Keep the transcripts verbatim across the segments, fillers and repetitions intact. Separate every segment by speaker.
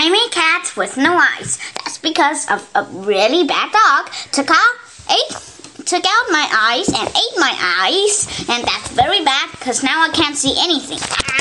Speaker 1: tiny cat with no eyes. That's because of a really bad dog took out ate took out my eyes and ate my eyes, and that's very bad because now I can't see anything.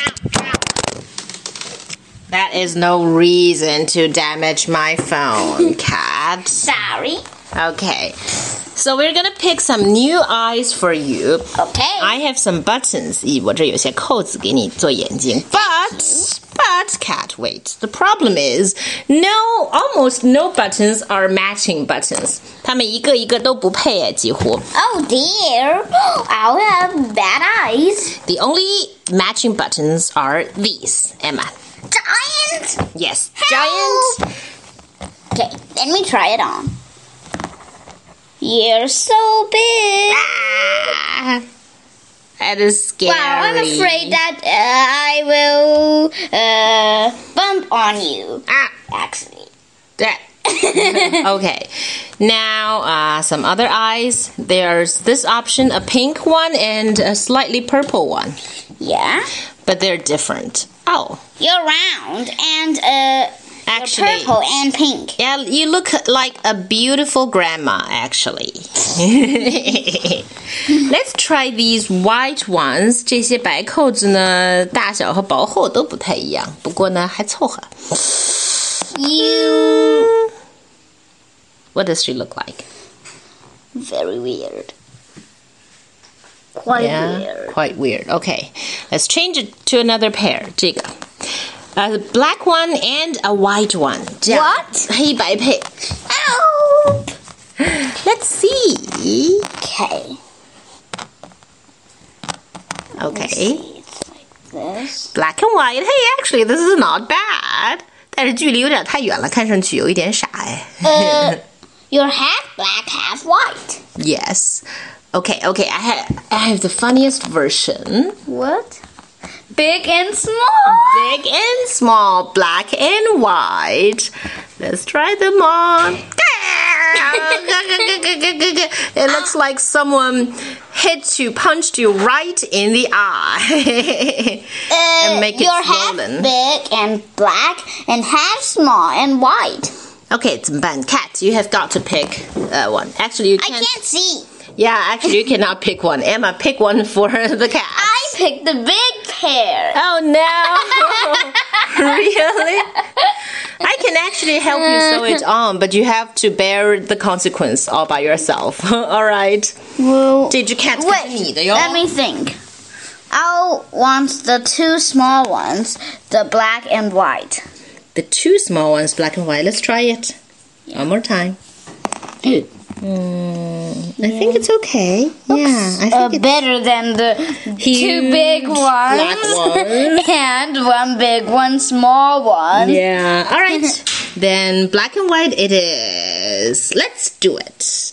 Speaker 2: That is no reason to damage my phone, cat.
Speaker 1: Sorry.
Speaker 2: Okay. So we're gonna pick some new eyes for you.
Speaker 1: Okay.
Speaker 2: I have some buttons. 咦，我这有些扣子给你做眼睛。But, but, cat, wait. The problem is, no, almost no buttons are matching buttons. 它们一个一个都不配诶，几乎。
Speaker 1: Oh dear, I'll have bad eyes.
Speaker 2: The only matching buttons are these, Emma.
Speaker 1: Giant.
Speaker 2: Yes,
Speaker 1: Help!
Speaker 2: giant.
Speaker 1: Okay, let me try it on. You're so big.
Speaker 2: Ah, that is scary.
Speaker 1: Wow, I'm afraid that uh, I will uh, bump on you.
Speaker 2: Ah,
Speaker 1: Actually.
Speaker 2: that. Okay, now uh, some other eyes. There's this option, a pink one and a slightly purple one.
Speaker 1: Yeah.
Speaker 2: But they're different. Oh.
Speaker 1: You're round and uh,
Speaker 2: Actually,
Speaker 1: you're purple and pink.
Speaker 2: Yeah, you look like a beautiful grandma, actually. Let's try these white ones. 这些白扣子呢，大小和薄厚都不太一样，不过呢，还凑合。
Speaker 1: You.
Speaker 2: What does she look like?
Speaker 1: Very weird. Quite
Speaker 2: Yeah,
Speaker 1: weird.
Speaker 2: quite weird. Okay, let's change it to another pair. 这个。A black one and a white one. 这样
Speaker 1: What?
Speaker 2: 黑白配。
Speaker 1: Help!
Speaker 2: Let's see.
Speaker 1: Okay.
Speaker 2: Okay.
Speaker 1: It's like this.
Speaker 2: Black and white. Hey, actually, this is not bad. 但是距离有点太远了，看上去有一点傻哎。
Speaker 1: Uh, you're half black, half white.
Speaker 2: Yes. Okay, okay. I have I have the funniest version.
Speaker 1: What? Big and small.
Speaker 2: Big and small, black and white. Let's try them on. It looks like someone hit you, punched you right in the eye.
Speaker 1: Uh,
Speaker 2: and make it
Speaker 1: you're
Speaker 2: swollen.
Speaker 1: half big and black and half small and white.
Speaker 2: Okay, 怎么办? Cat, you have got to pick uh, one. Actually, you
Speaker 1: I
Speaker 2: can't.
Speaker 1: can't see.
Speaker 2: Yeah, actually, you cannot pick one. Emma, pick one for the cat.
Speaker 1: I picked the big pair.
Speaker 2: Oh no! Really? I can actually help you sew it on, but you have to bear the consequence all by yourself. All right.
Speaker 1: Well,
Speaker 2: 这只 cat 可是你的哟。
Speaker 1: let me think. I'll want the two small ones, the black and white.
Speaker 2: The two small ones, black and white. Let's try it. One more time. Mm, I think it's okay. Yeah, I think
Speaker 1: Uh,
Speaker 2: it's
Speaker 1: better than the
Speaker 2: Huge
Speaker 1: two big ones,
Speaker 2: black ones.
Speaker 1: and one big one small one.
Speaker 2: Yeah. All right. Then black and white it is. Let's do it.